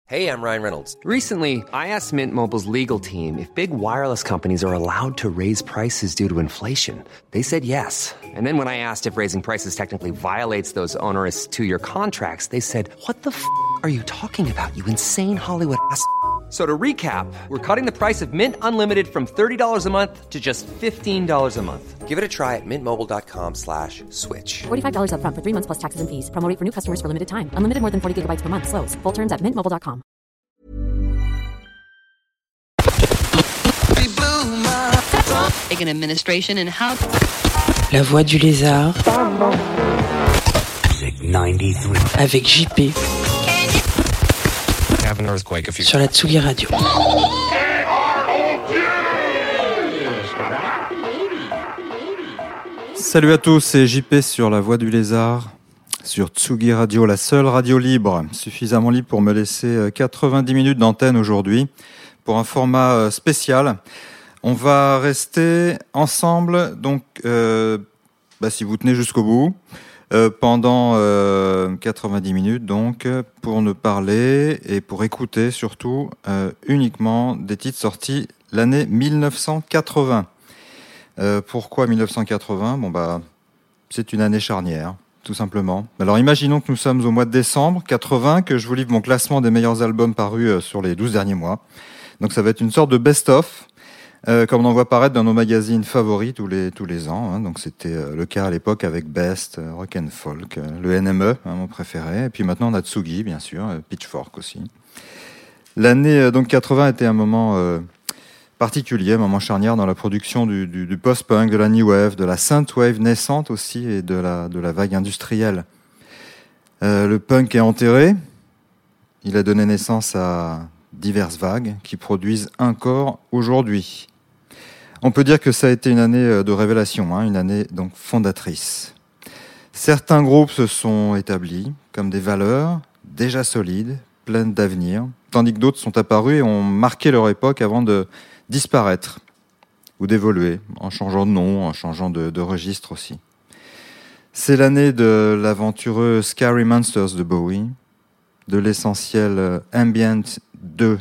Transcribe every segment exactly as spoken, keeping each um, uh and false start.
Hey, I'm Ryan Reynolds. Recently, I asked Mint Mobile's legal team if big wireless companies are allowed to raise prices due to inflation. They said yes. And then when I asked if raising prices technically violates those onerous two-year contracts, they said, what the f*** are you talking about, you insane Hollywood ass f- So to recap, we're cutting the price of Mint Unlimited from thirty dollars a month to just fifteen dollars a month. Give it a try at mintmobile.com slash switch. forty-five dollars up front for three months plus taxes and fees. Promo rate for new customers for limited time. Unlimited more than forty gigabytes per month. Slows full terms at mint mobile dot com. Like an administration and how... La Voix du Lézard. Avec J P. Have an earthquake if you... Sur la Tsugi Radio. Salut à tous, c'est J P sur La Voix du Lézard, sur Tsugi Radio, la seule radio libre, suffisamment libre pour me laisser quatre-vingt-dix minutes d'antenne aujourd'hui, pour un format spécial. On va rester ensemble, donc, euh, bah, si vous tenez jusqu'au bout, euh, pendant euh, quatre-vingt-dix minutes, donc, pour ne parler et pour écouter surtout euh, uniquement des titres sortis l'année mille neuf cent quatre-vingts. Euh, pourquoi mille neuf cent quatre-vingts ? Bon, bah, c'est une année charnière, tout simplement. Alors, imaginons que nous sommes au mois de décembre quatre-vingts, que je vous livre mon classement des meilleurs albums parus euh, sur les douze derniers mois. Donc, ça va être une sorte de best-of. Euh, comme on en voit paraître dans nos magazines favoris tous les tous les ans, hein. Donc c'était euh, le cas à l'époque avec Best, euh, Rock and Folk, euh, le N M E, hein, mon préféré, et puis maintenant on a Tsugi, bien sûr, euh, Pitchfork aussi. L'année euh, donc quatre-vingts était un moment euh, particulier, un moment charnière dans la production du, du, du post-punk, de la new wave, de la synthwave naissante aussi et de la de la vague industrielle. Euh, le punk est enterré, il a donné naissance à diverses vagues qui produisent encore aujourd'hui. On peut dire que ça a été une année de révélation, hein, une année donc fondatrice. Certains groupes se sont établis comme des valeurs déjà solides, pleines d'avenir, tandis que d'autres sont apparus et ont marqué leur époque avant de disparaître ou d'évoluer, en changeant de nom, en changeant de, de registre aussi. C'est l'année de l'aventureux Scary Monsters de Bowie, de l'essentiel Ambient deux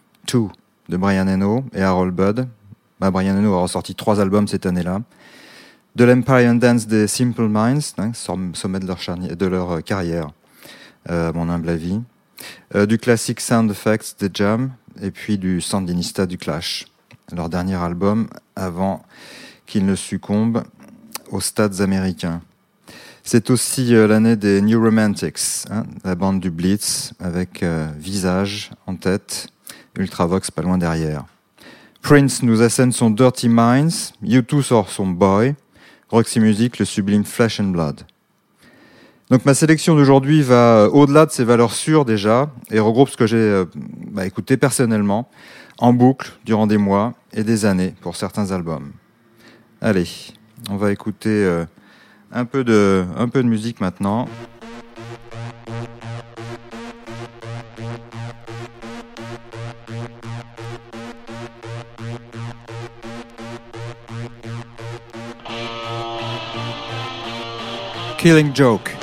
de Brian Eno et Harold Budd. Bah, Brian Eno a ressorti trois albums cette année-là. De l'Empire Dance des Simple Minds, hein, sommet de leur, charni- de leur carrière, euh, à mon humble avis. Euh, du classique Sound Effects des Jam, et puis du Sandinista du Clash, leur dernier album avant qu'ils ne succombent aux stades américains. C'est aussi euh, l'année des New Romantics, hein, la bande du Blitz, avec euh, Visage en tête, Ultravox pas loin derrière. Prince nous assène son Dirty Minds, U deux sort son Boy, Roxy Music le sublime Flesh and Blood. Donc ma sélection d'aujourd'hui va au-delà de ses valeurs sûres déjà, et regroupe ce que j'ai euh, bah, écouté personnellement, en boucle, durant des mois et des années, pour certains albums. Allez, on va écouter... Euh, Un peu de, un peu de musique maintenant. Killing Joke.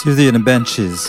Susie and the Benches.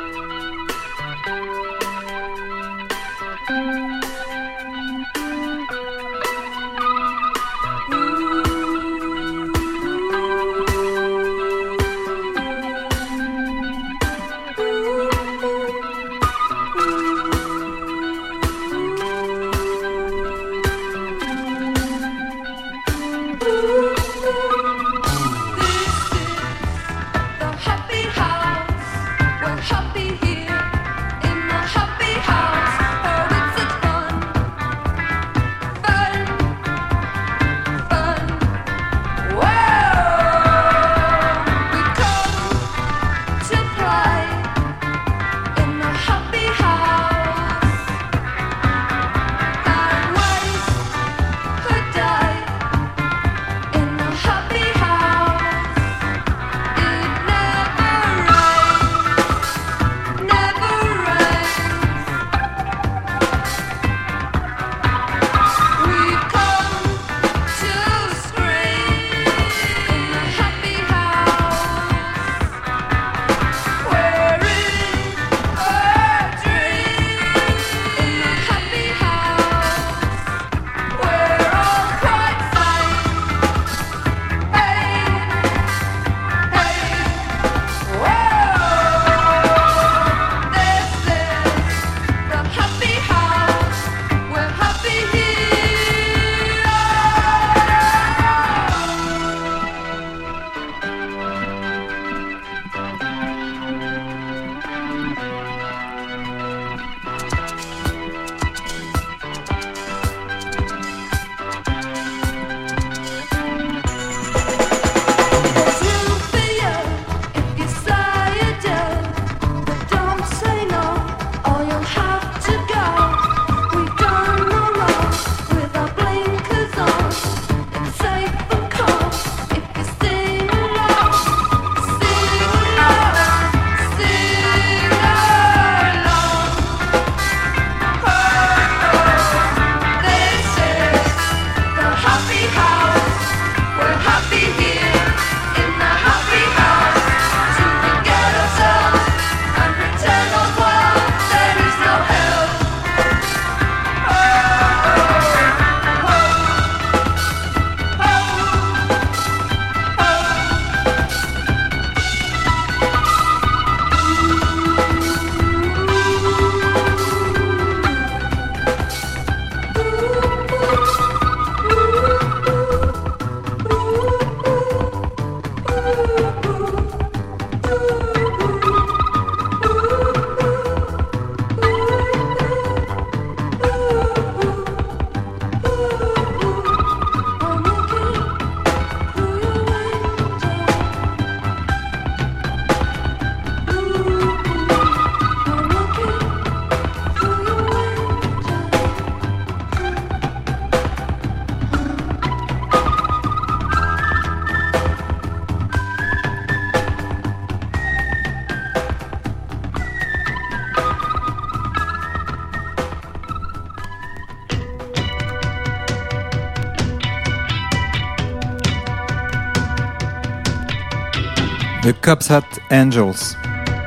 The Cops Hat Angels.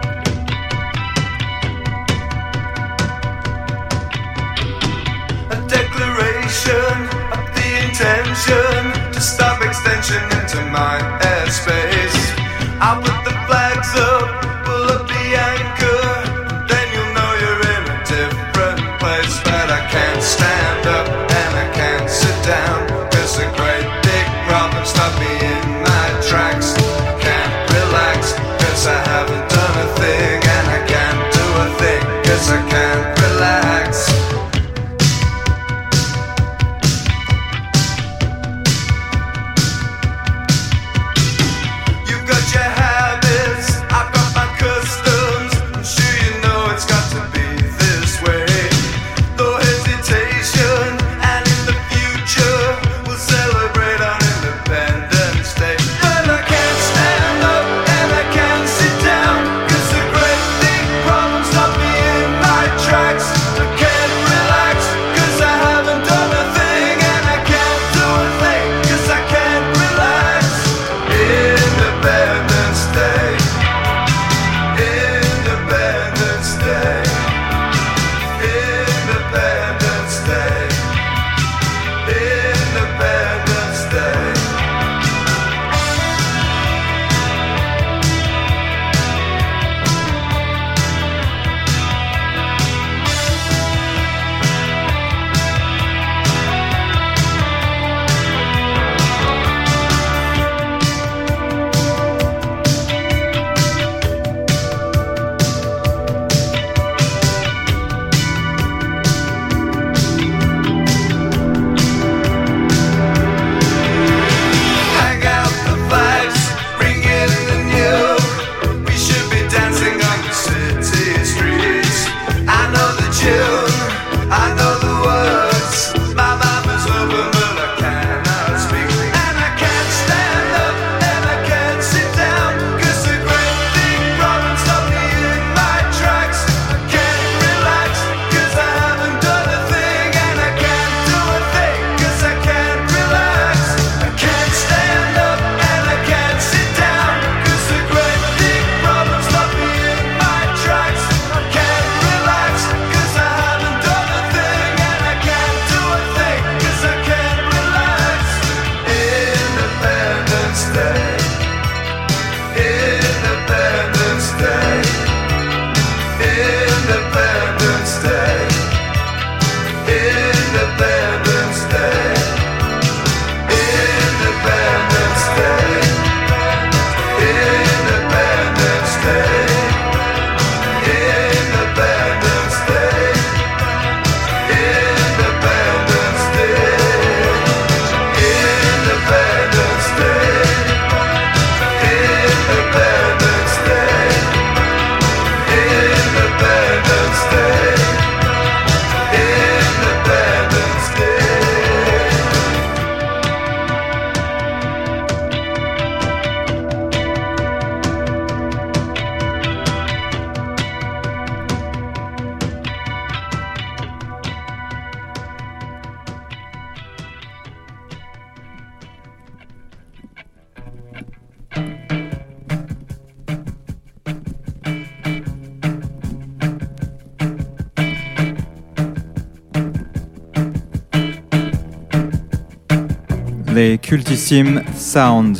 A declaration of the intention to stop extension into my airspace. I'll put the flags up, pull up the anchor, then you'll know you're in a different place. But I can't stand up and I can't sit down, 'cause a great big problem stopped me in my tracks. Can't relax, 'cause I haven't done a thing, and I can't do a thing, 'cause I can't relax. You've got your habit les cultissimes Sound.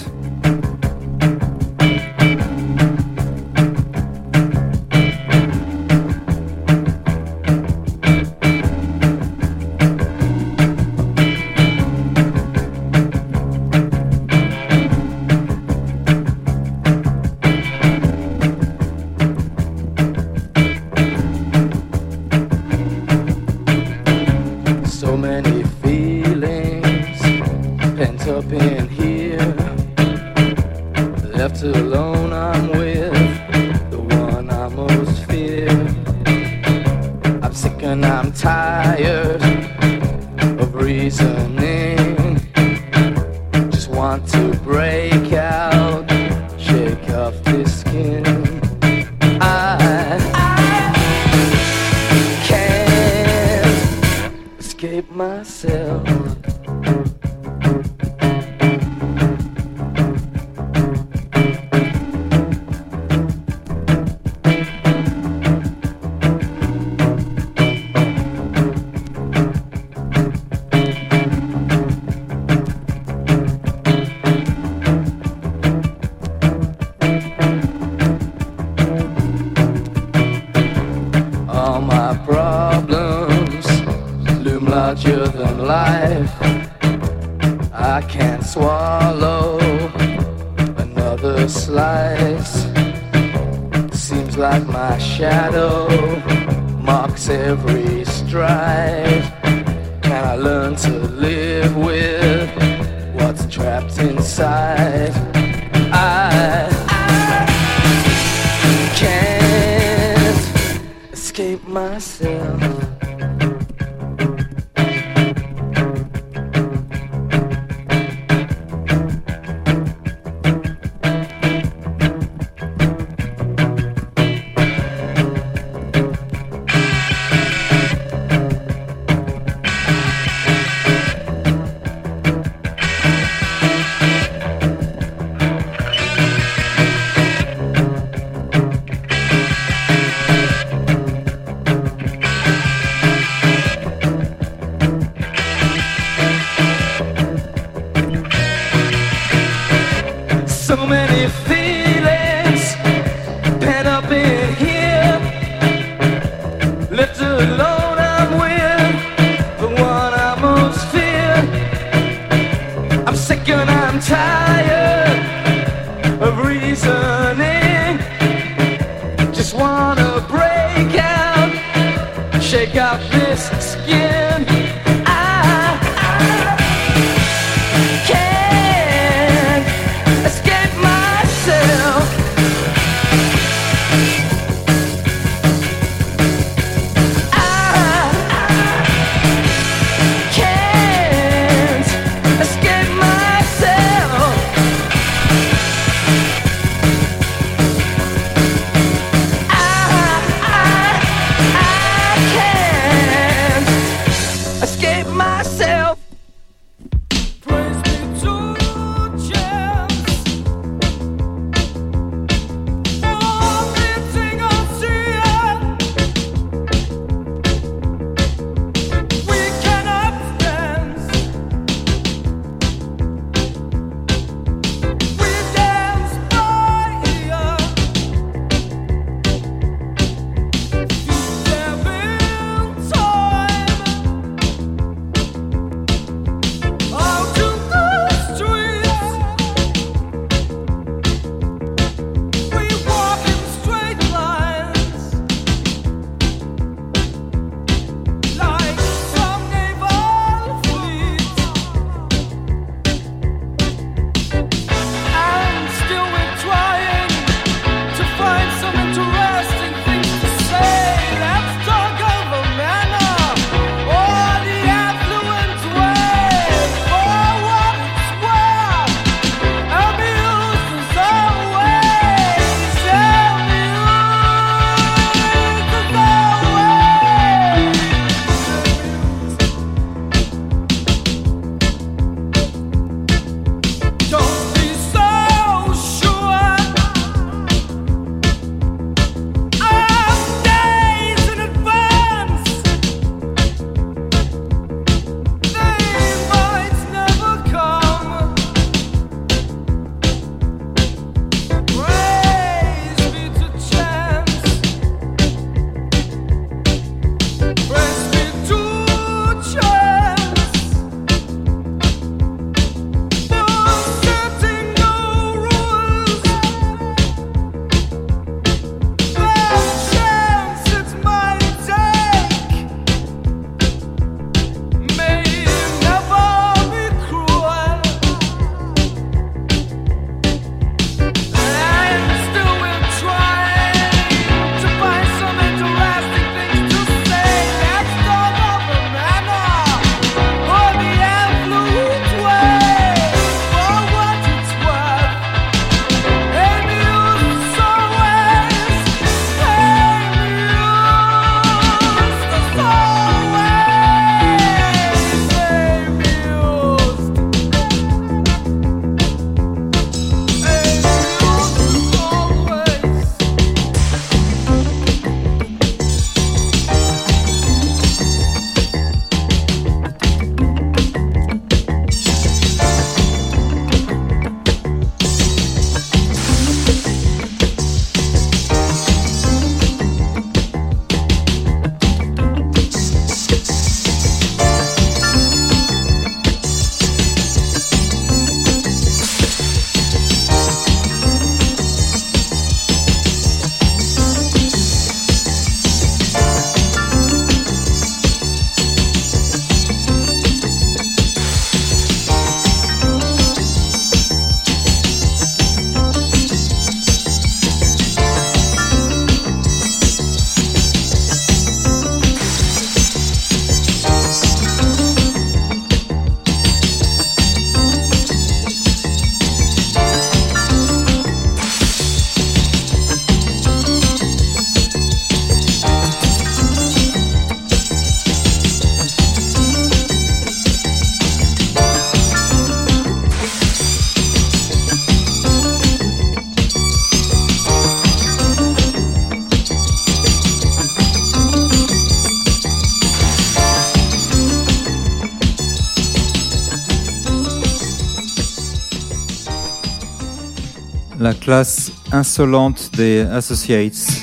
La classe insolente des Associates.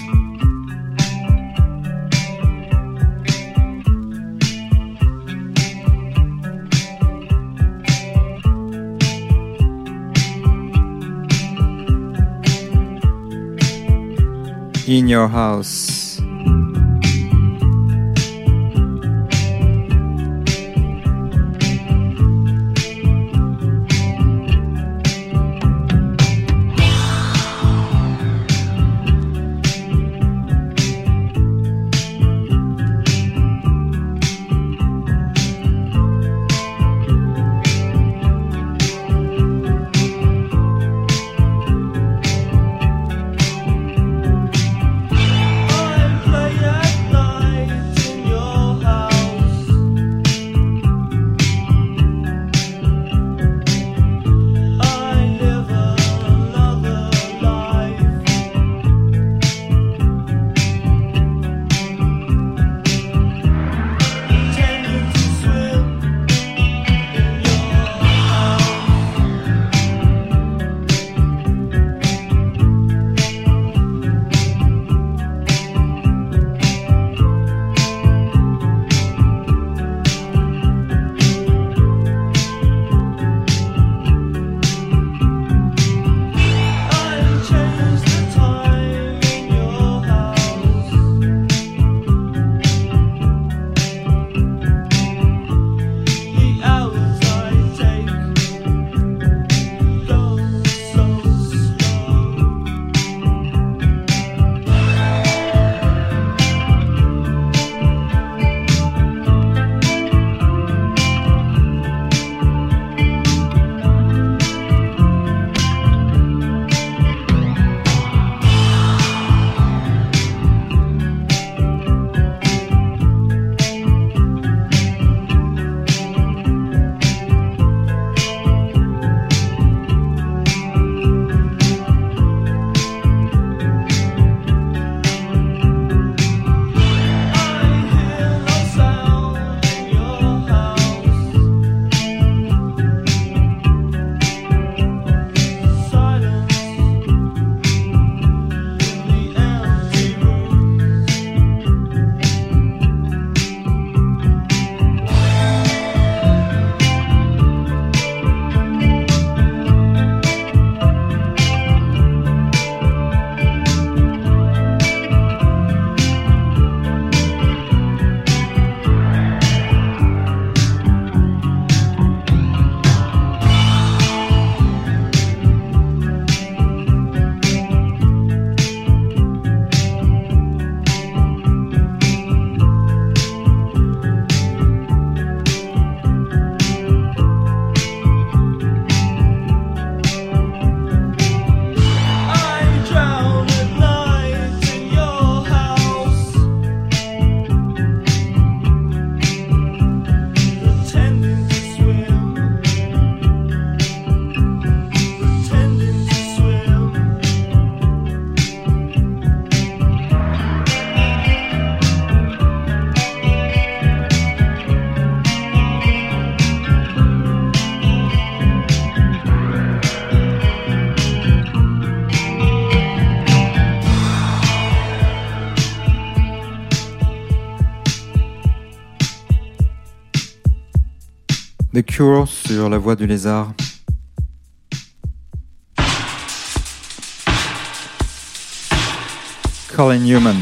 In Your House. The Cure sur La Voix du Lézard. Colin Newman.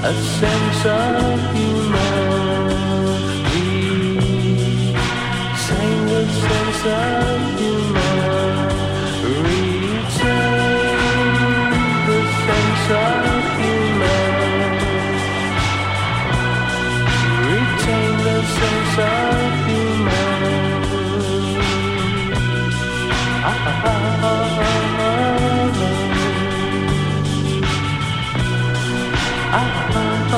a sense of humanity. Retain the sense of humanity. Retain the sense of humanity. Retain the sense of humanity. Ah, ah, ah, ah, ah, ah, ah,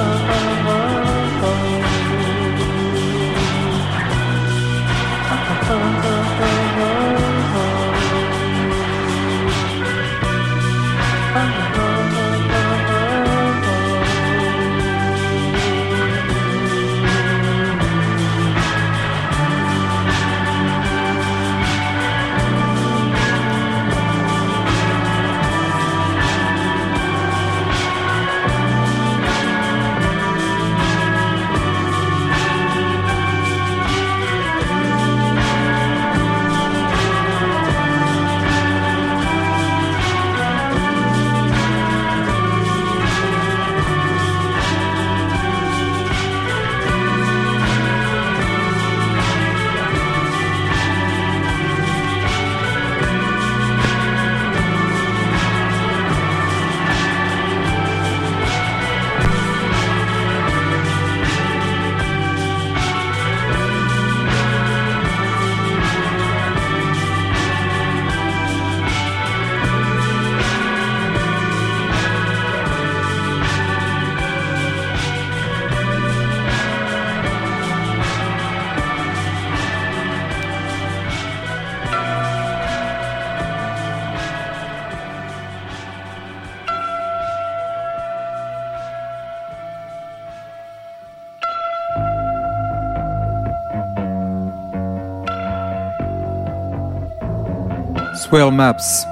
Swell Maps.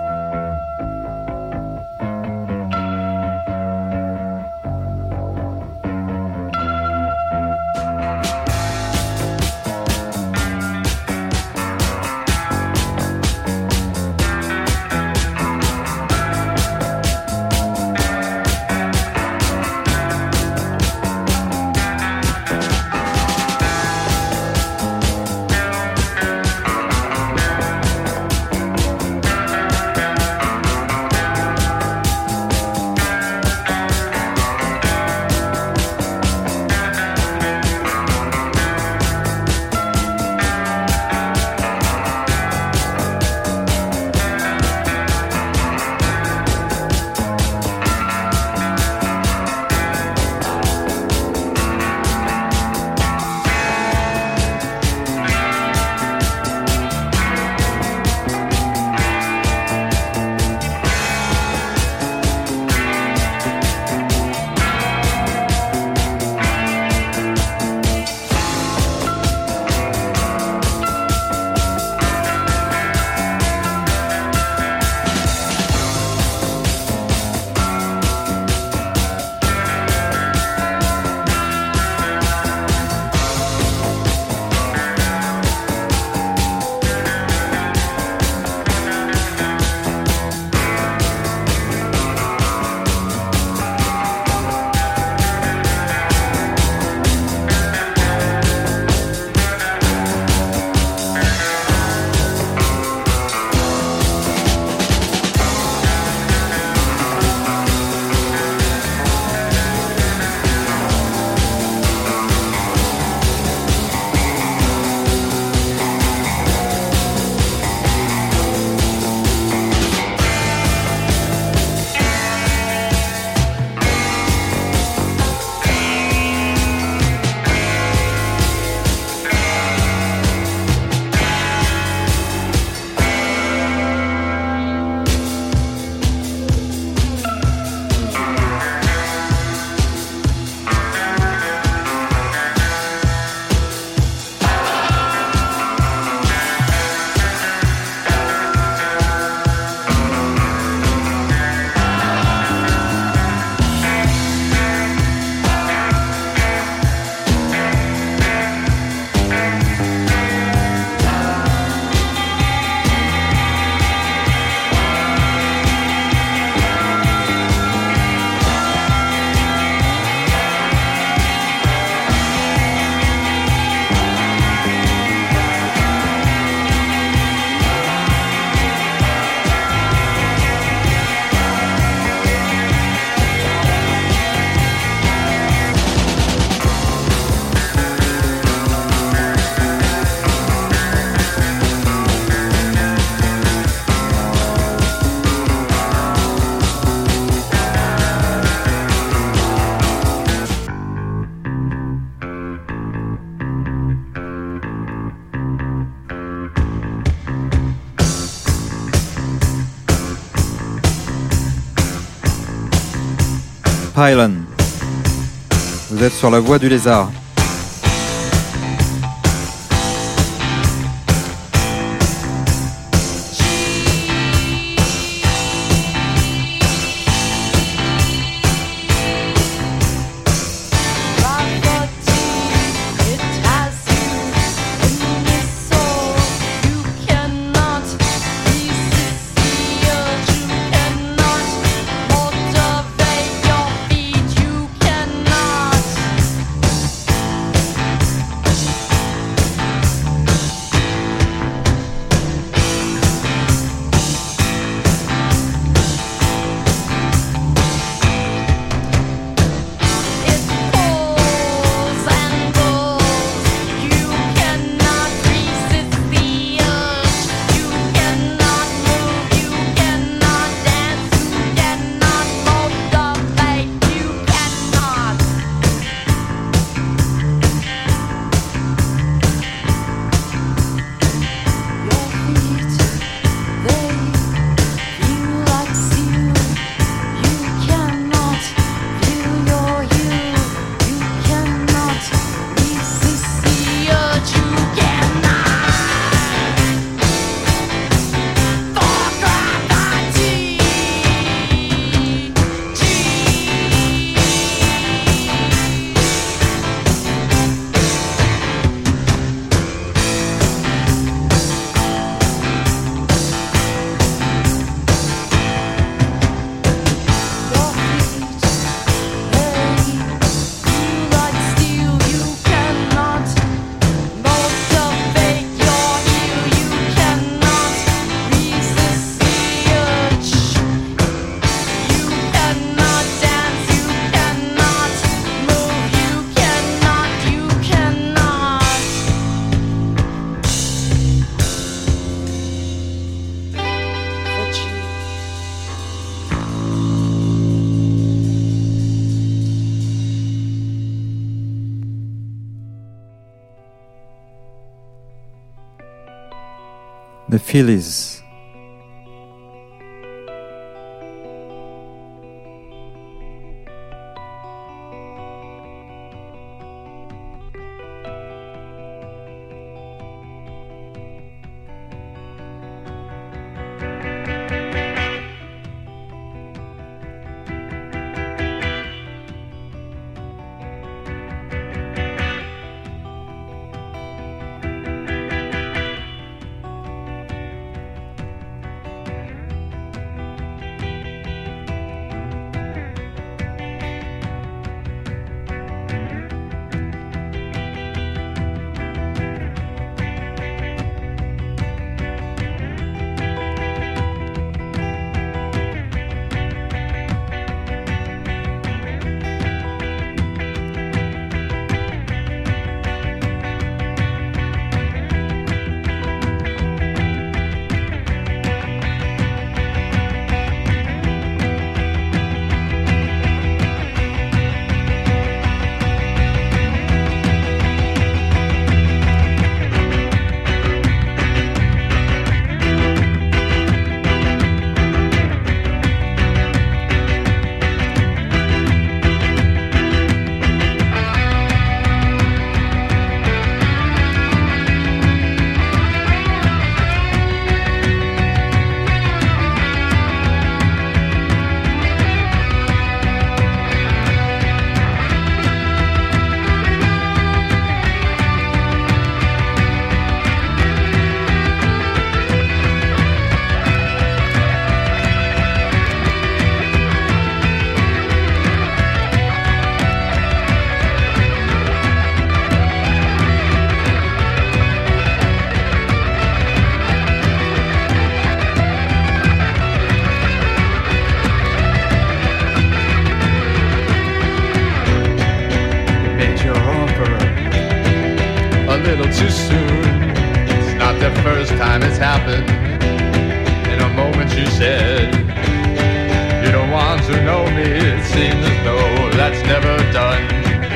Pylon. Vous êtes sur la voie du lézard. The Phillies. Too soon. It's not the first time it's happened. In a moment you said you don't want to know me. It seems as though that's never done.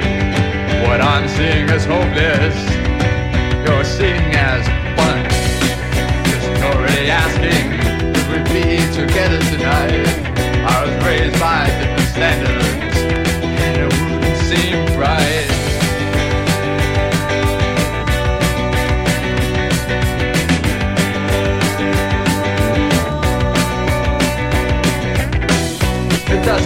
What I'm seeing is hopeless. You're seeing as fun. Just already asking if we'd be together tonight. I was raised by different standards.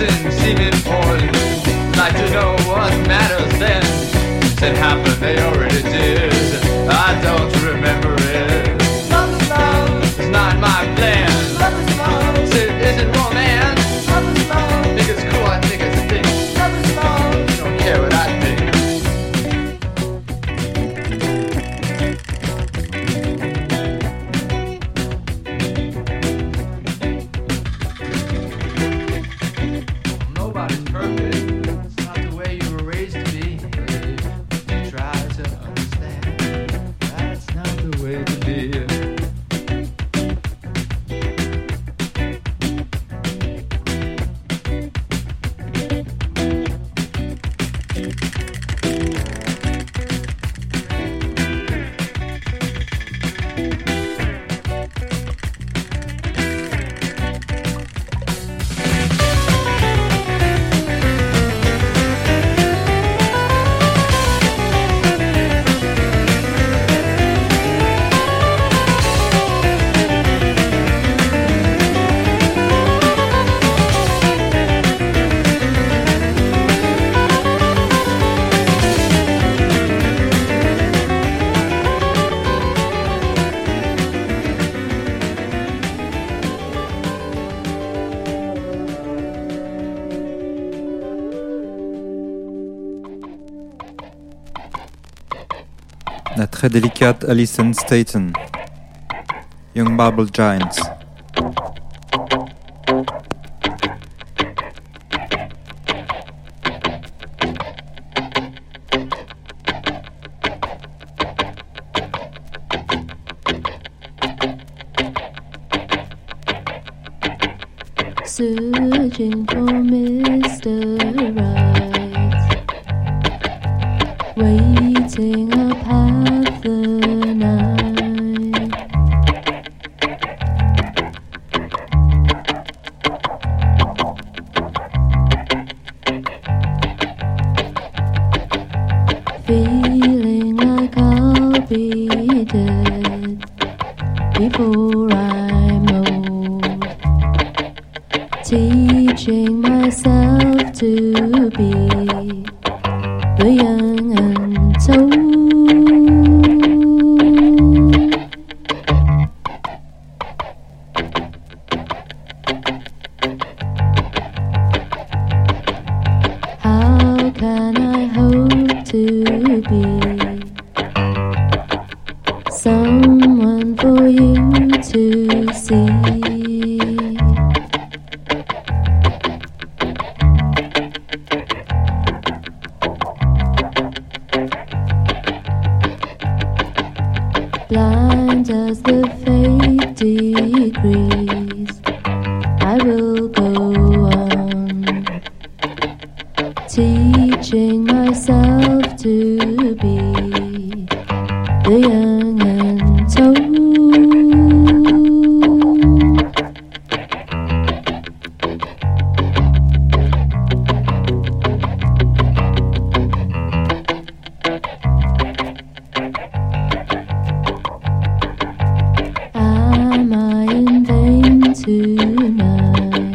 doesn't seem important. Like to know what matters then. It happened, they already did. I don't remember it. Love is love. It's not my plan. Love is love. It isn't romance. Love is love. Think it's cool, I think it's thick. Love is love. Don't care what I think. Nobody's perfect. It's not the way you were raised to be. Try to understand. That's not the way to be. La très délicate Alison Staten, Young Marble Giants. Searching for Mister Right, waiting up half the night. Feeling like I'll be dead before I'm old. Teaching myself to be the young untold. How can I hope to be someone for you to see? Blind as the fate decrees, I will go on, teaching myself to be the young and told. Am I in vain tonight?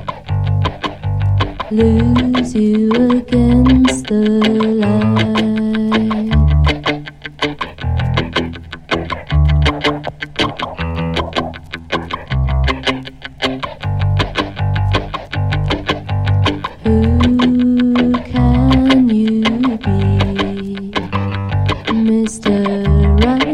Lose you against the light. Who can you be, Mister Right?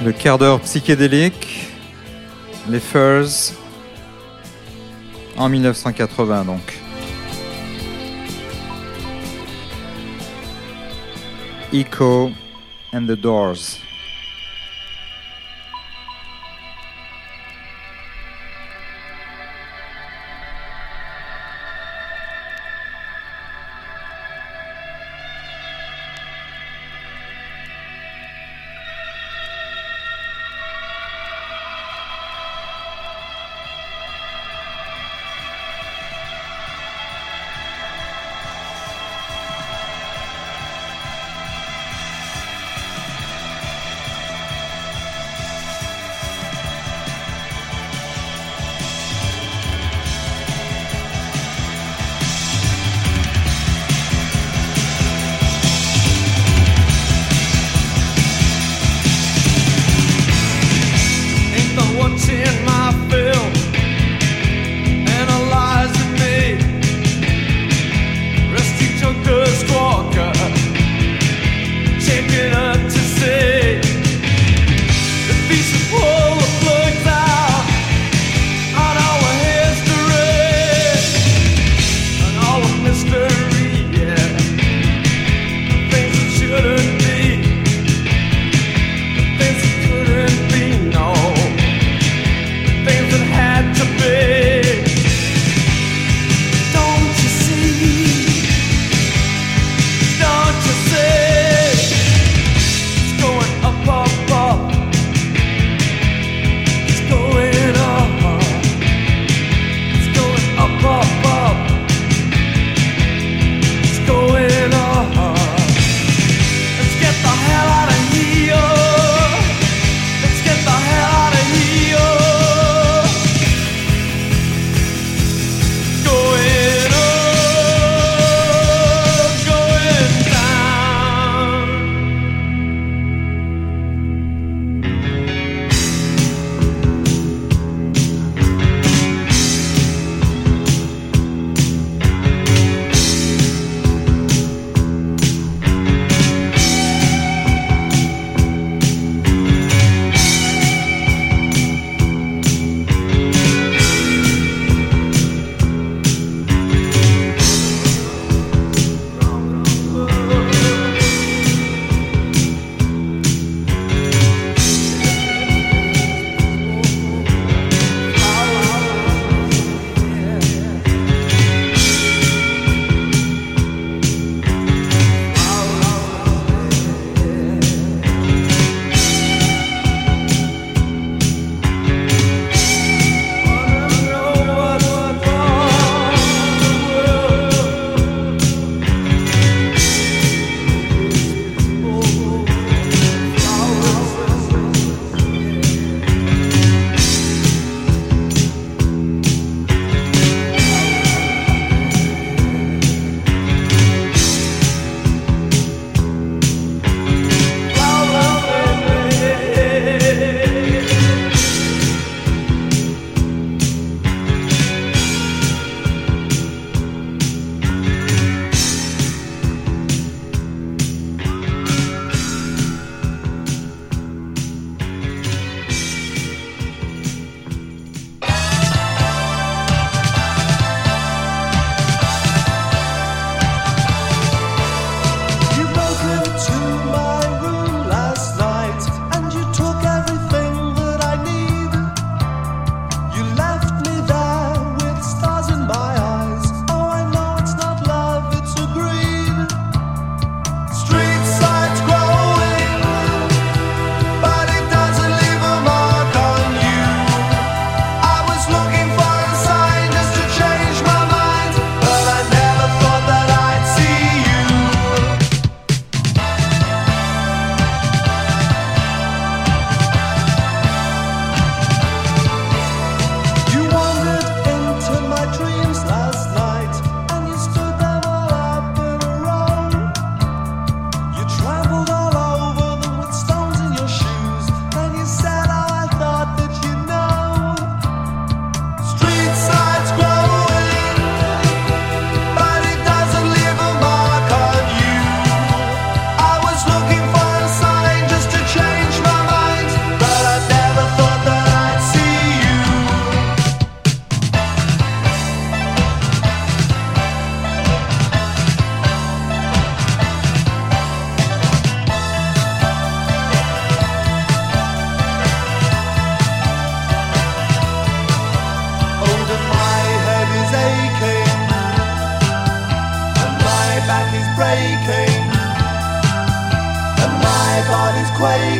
Le quart d'heure psychédélique, les Furs, en dix-neuf cent quatre-vingts donc. Echo and the Doors.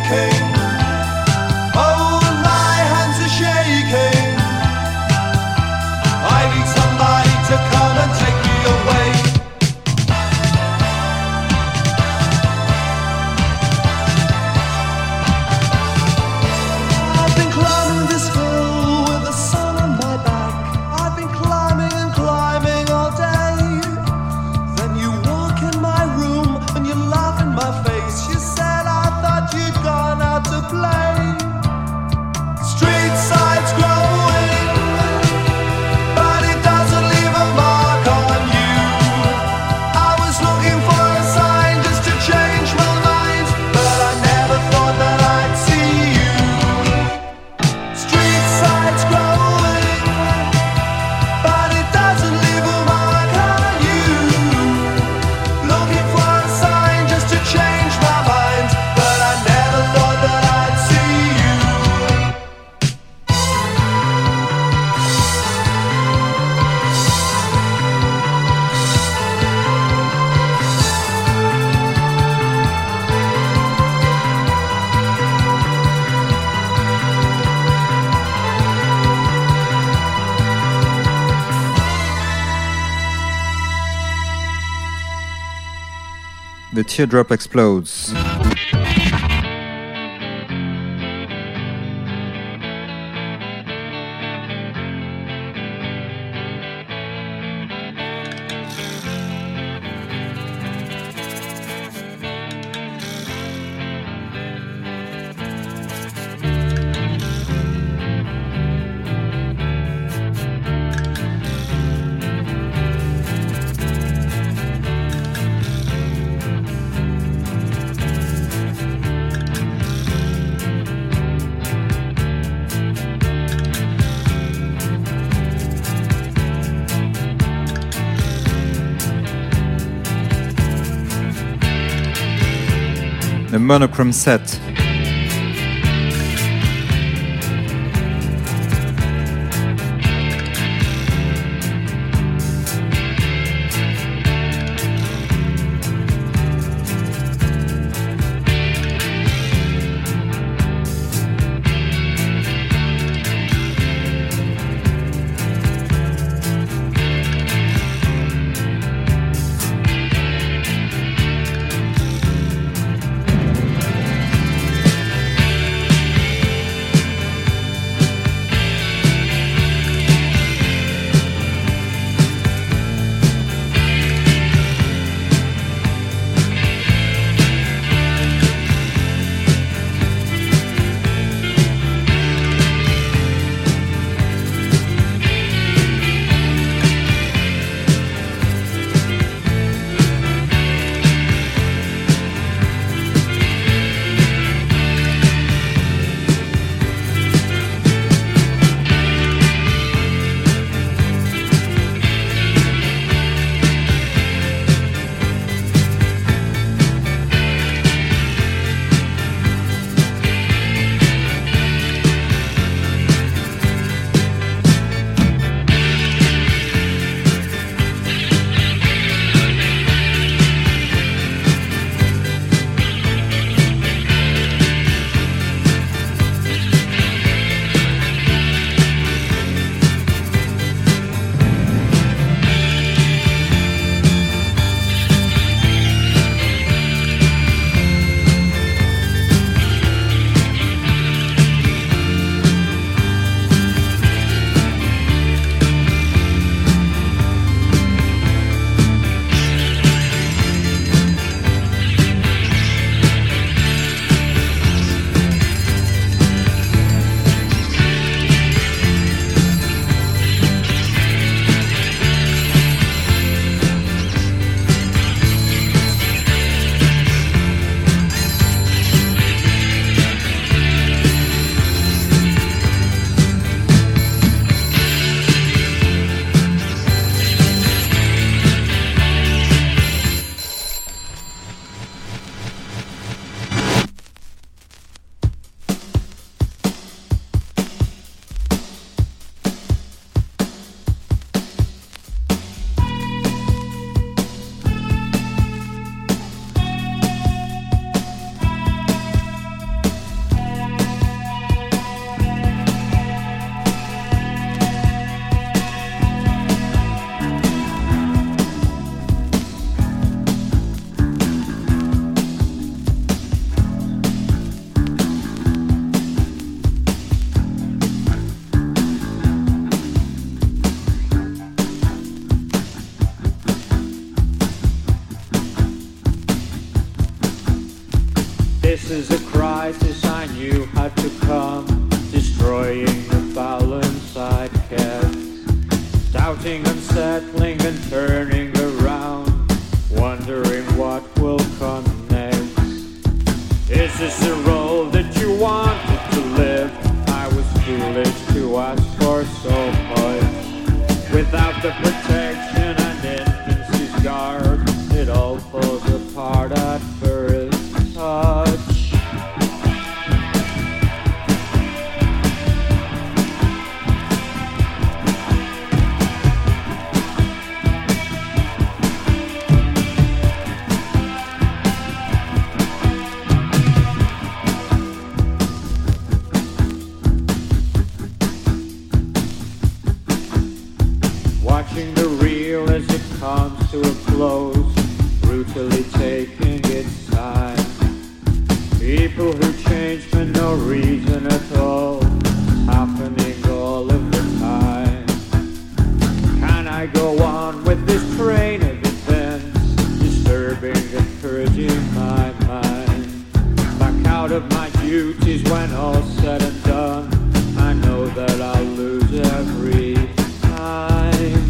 aching. Oh, my hands are shaking. I need somebody to come and take me away. I've been climbing this hill with the sun on my back. I've been climbing and climbing all day. Then you walk in my room and you laugh in my face. You said I thought you'd gone out to play. Street side's growing, but it doesn't leave a mark on you. I was looking for a sign just to change my mind, but I never thought that I'd see you. Street side's growing, but it doesn't leave a mark on you. Looking for a sign just to change my mind, but I never thought that I'd see you. The Teardrop Explodes. The Monochrome Set. you wanted to live. I was foolish to ask for so much. Without the protection and infancy's guard, it all falls apart at first touch. Watching the reel as it comes to a close, brutally taking its time. People who change for no reason at all, happening all of the time. Can I go on with this train of events, disturbing and purging my mind? Back out of my duties when all's said and done, I know that I'll lose every time.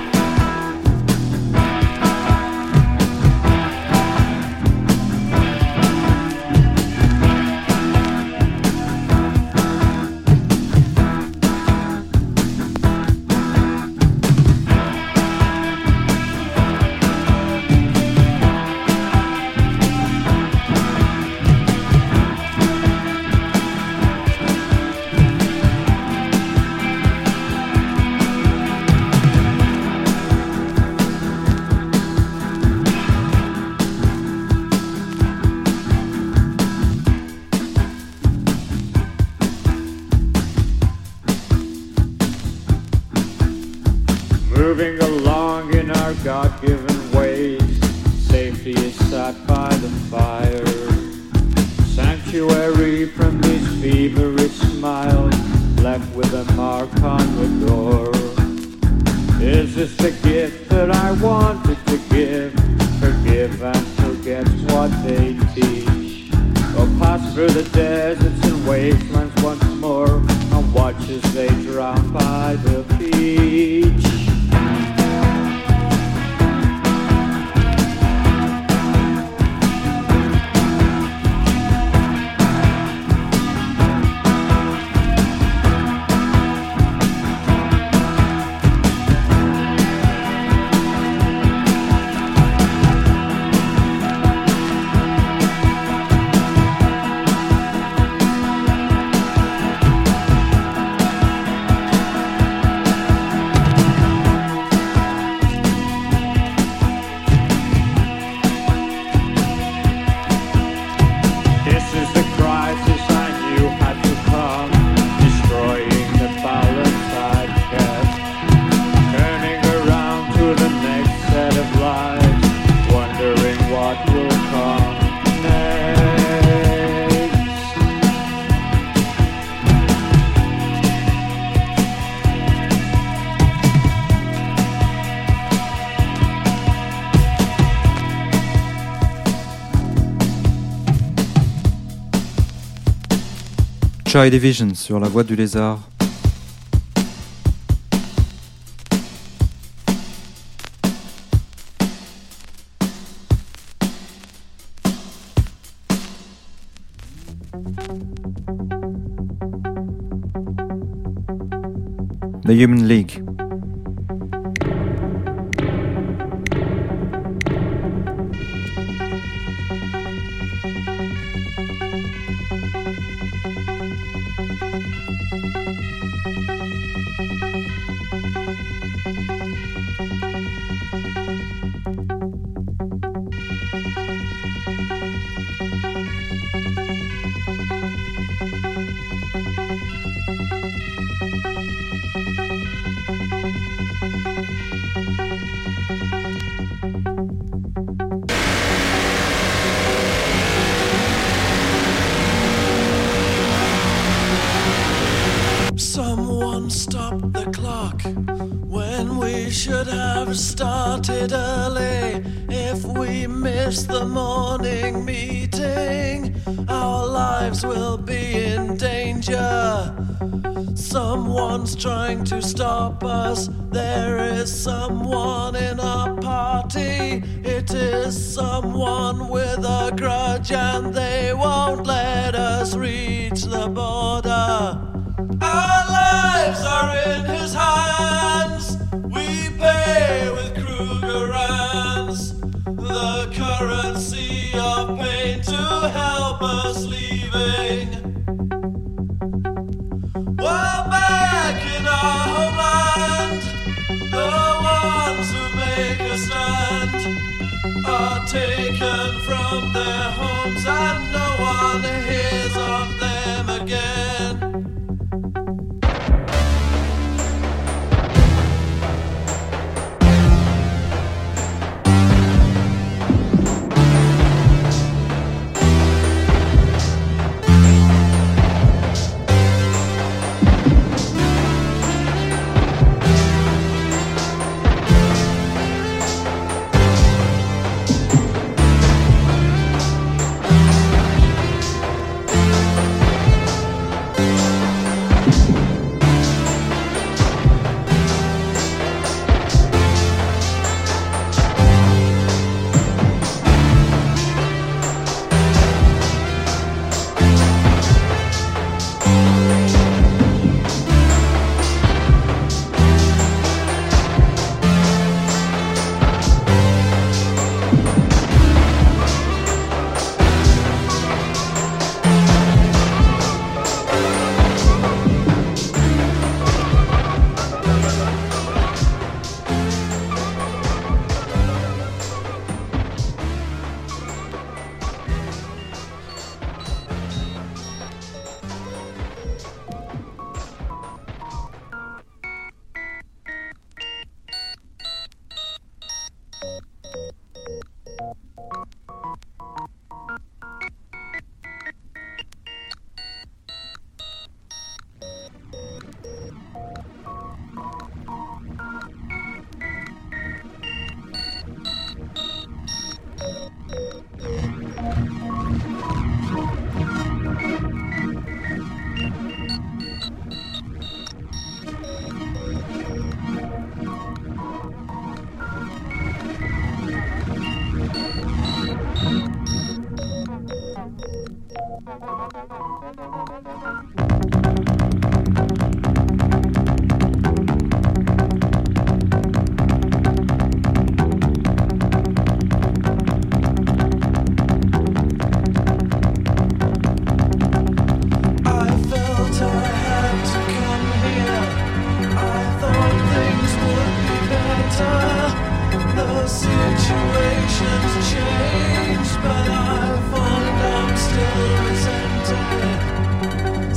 Moving along in our God-given ways, safety is sought by the fire. Sanctuary from these feverish smiles, left with a mark on the door. Is this the gift that I wanted to give? Forgive and forget's what they teach. Or pass through the deserts and wastelands once more, and watch as they drown by the beach. Joy Division sur la voie du lézard. The Human League. Someone stop the clock when we should have started early. If we miss the morning meeting, our lives will be in danger. Someone's trying to stop us. There is someone in our party. It is someone with a grudge, and they won't let us reach the border. Our lives are in his hands. We pay with Krugerrands, the currency of pain to help us leaving. We're back in our homeland. The ones who make a stand are taken from their homes, and no one hears of them again. Situation's changed, but I find I'm still resenting it.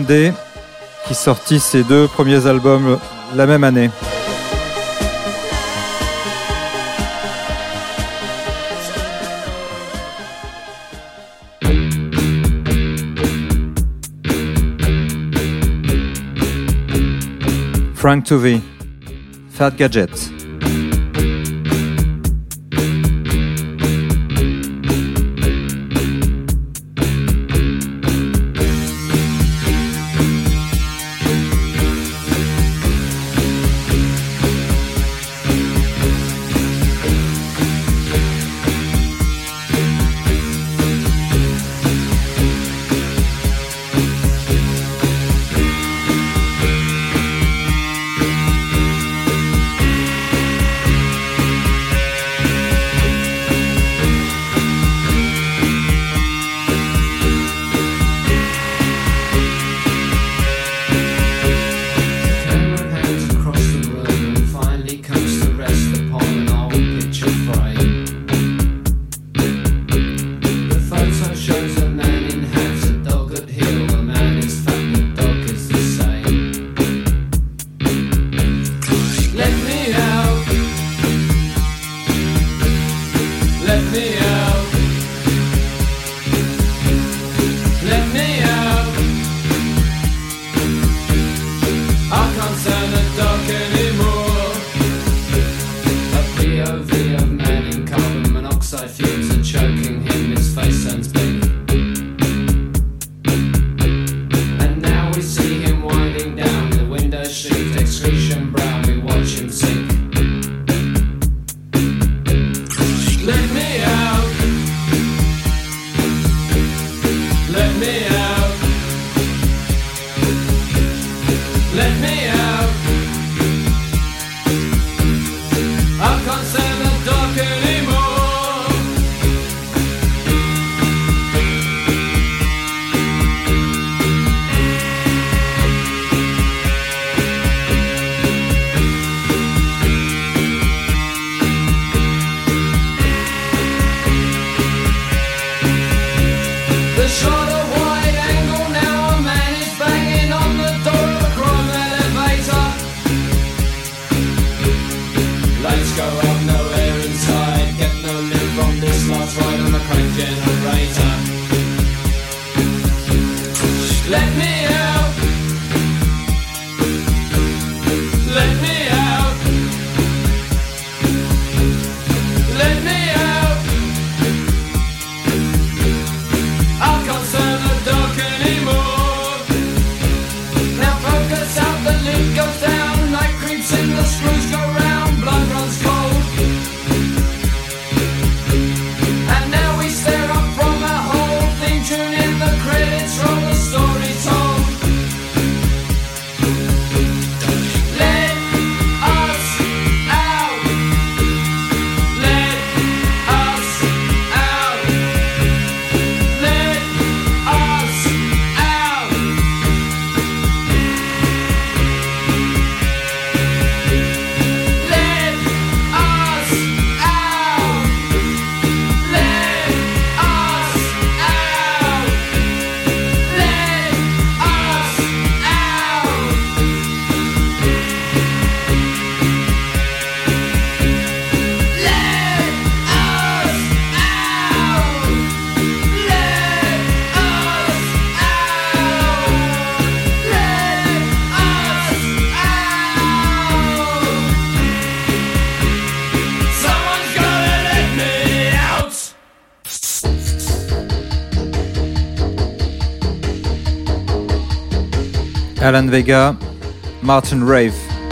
Day, qui sortit ses deux premiers albums la même année. Frank Tuvey, Fat Gadget. Alan Vega, Martin Rave.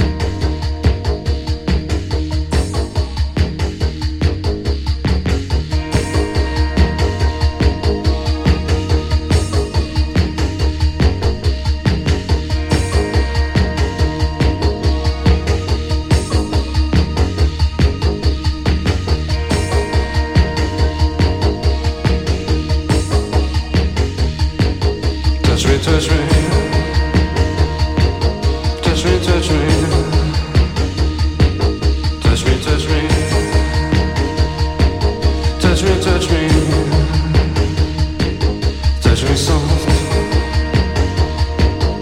Touch me, touch me. Touch me, touch me. Touch me, touch me. Touch me, touch me. Touch me soft.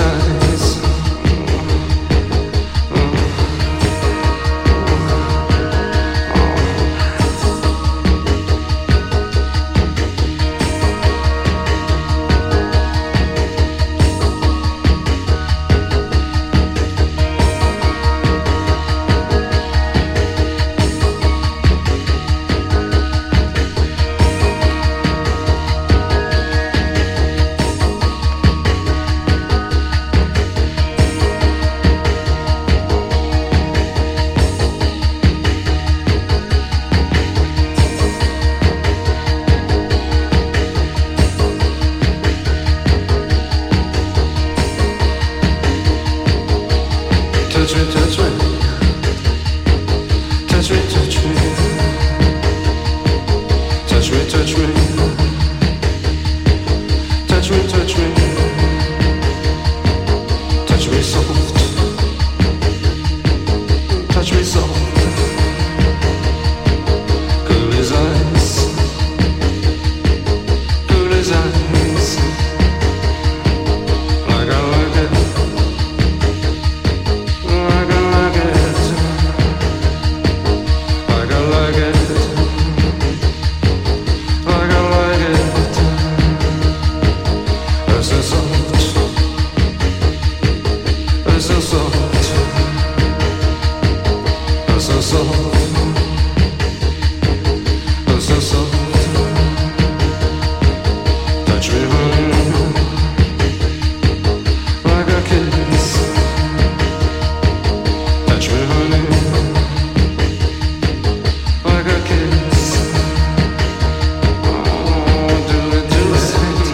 eyes. Touch me, touch me, touch me, touch me, touch me, touch me, touch me, touch me, touch me soft, touch me soft, cool as ice, cool as ice, like I like it. Touch me, honey, like a kiss. Touch me, honey, like a kiss. Oh, do it, do it,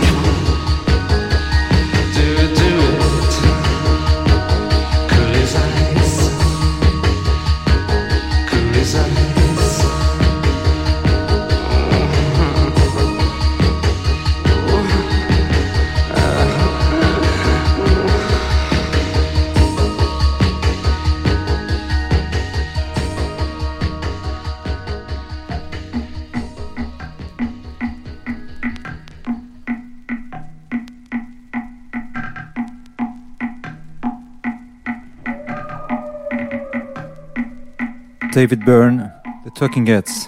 do it, do it. Cool as ice, cool as ice. David Byrne, The Talking Heads.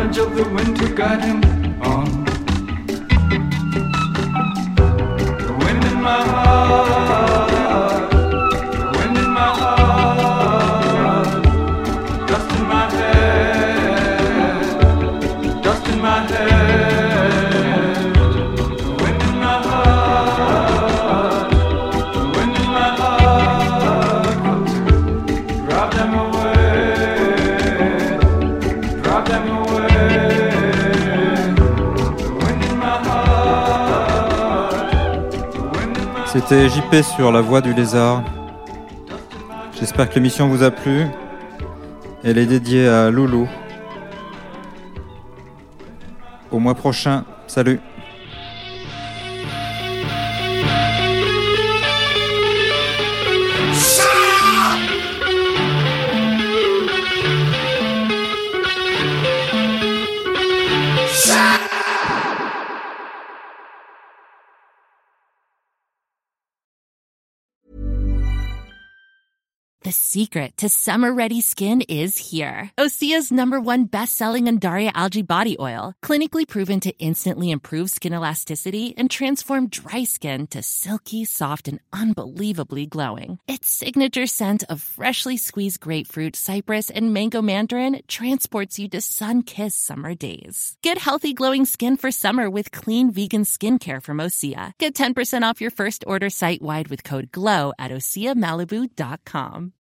knowledge of the wind to guide him on. The wind in my heart, the wind in my heart, dust in my head, dust in my head. The wind in my heart, the wind in my heart, come to drive them away, drive them away. C'était J P sur La Voix du Lézard. J'espère que l'émission vous a plu. Elle est dédiée à Loulou. Au mois prochain. Salut. The secret to summer-ready skin is here. Osea's number one best-selling Undaria Algae Body Oil, clinically proven to instantly improve skin elasticity and transform dry skin to silky, soft, and unbelievably glowing. Its signature scent of freshly squeezed grapefruit, cypress, and mango mandarin transports you to sun-kissed summer days. Get healthy, glowing skin for summer with clean vegan skincare from Osea. Get ten percent off your first order site-wide with code GLOW at osea malibu dot com.